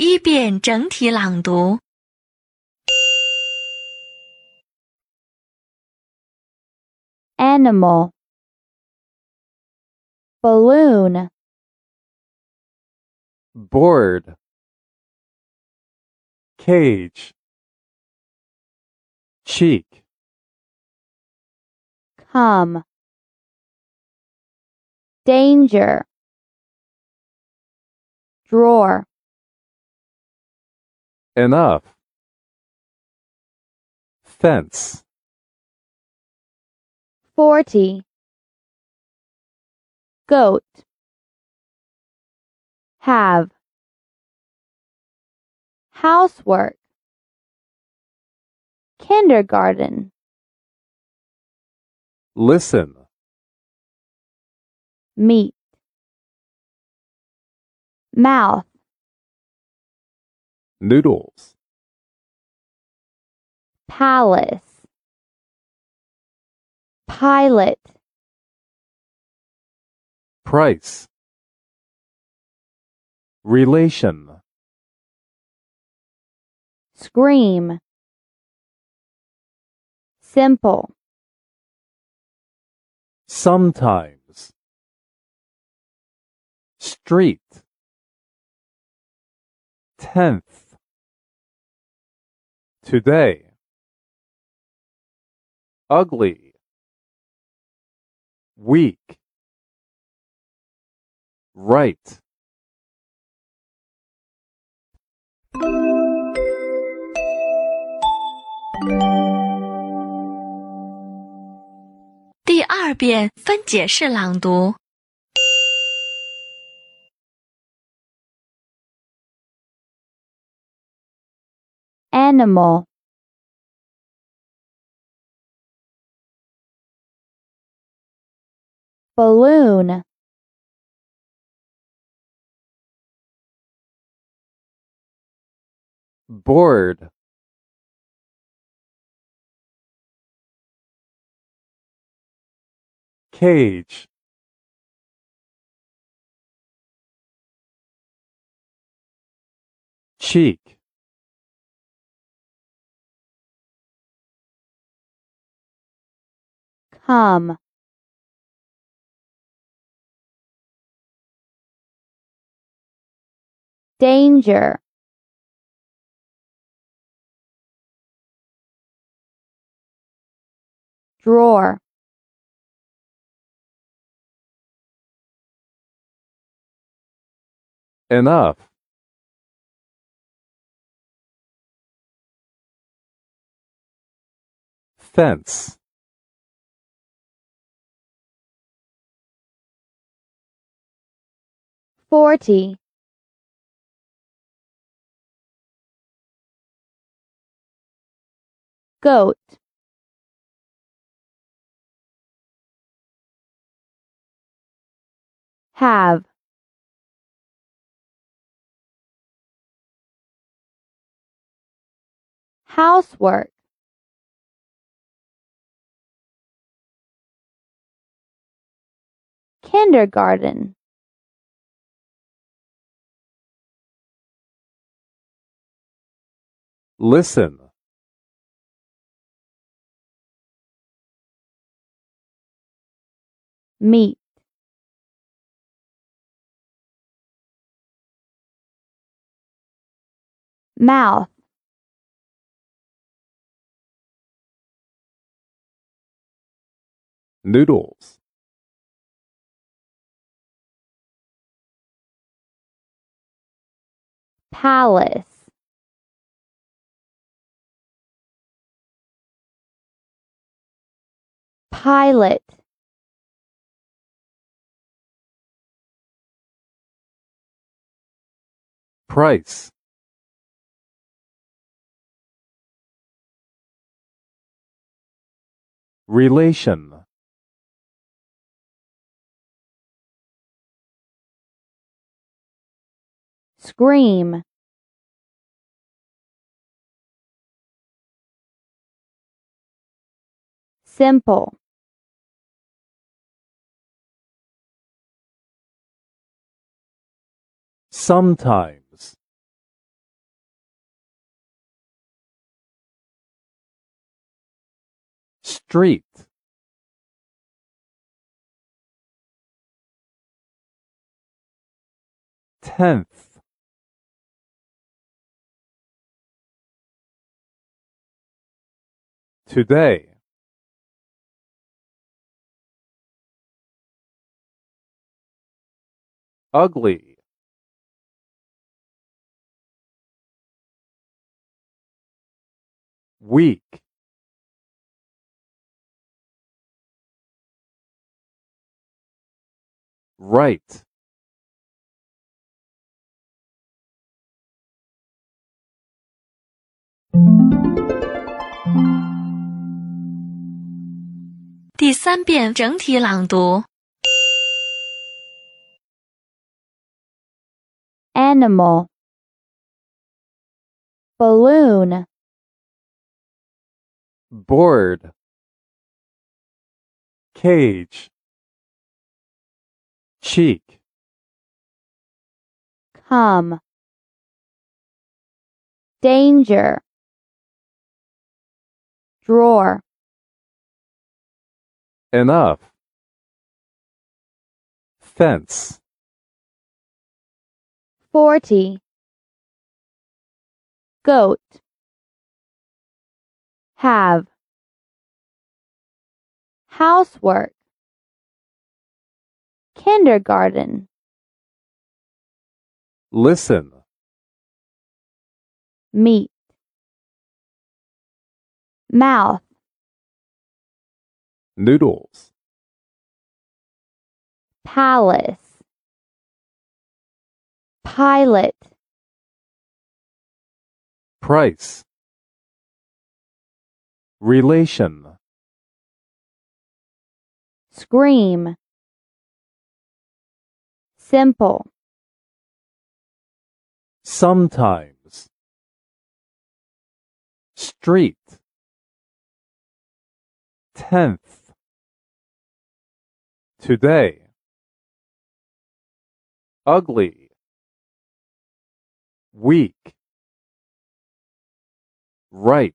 第一遍整体朗读。 Animal, balloon, board, cage, cheek, come, danger, drawer, enough, fence, 40, goat, have, housework, kindergarten, listen, meat, mouth, noodles, palace, pilot, price, relation, scream, simple, sometimes, street, 10th, today, ugly, weak, right. 第二遍分解式朗读。 animal, balloon, board, cage, cheek, come, danger, drawer, enough, fence, $40, goat, have, housework, kindergarten, listen, meat, mouth, noodles, palace, pilot, price, relation, scream, simple, sometimes, street, tenth, today, ugly, weak, right, 第3遍整体朗读。 animal, balloon, board, cage, cheek, come, danger, drawer, enough, fence, 40, goat, have, housework, kindergarten, listen, meat, mouth, noodles, palace, pilot, price, relation, scream, simple, sometimes, street, tenth, today, ugly, weak, right.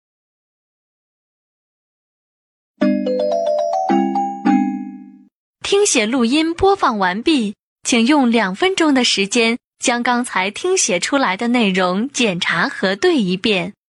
听写录音播放完毕，请用2分钟的时间将刚才听写出来的内容检查核对一遍。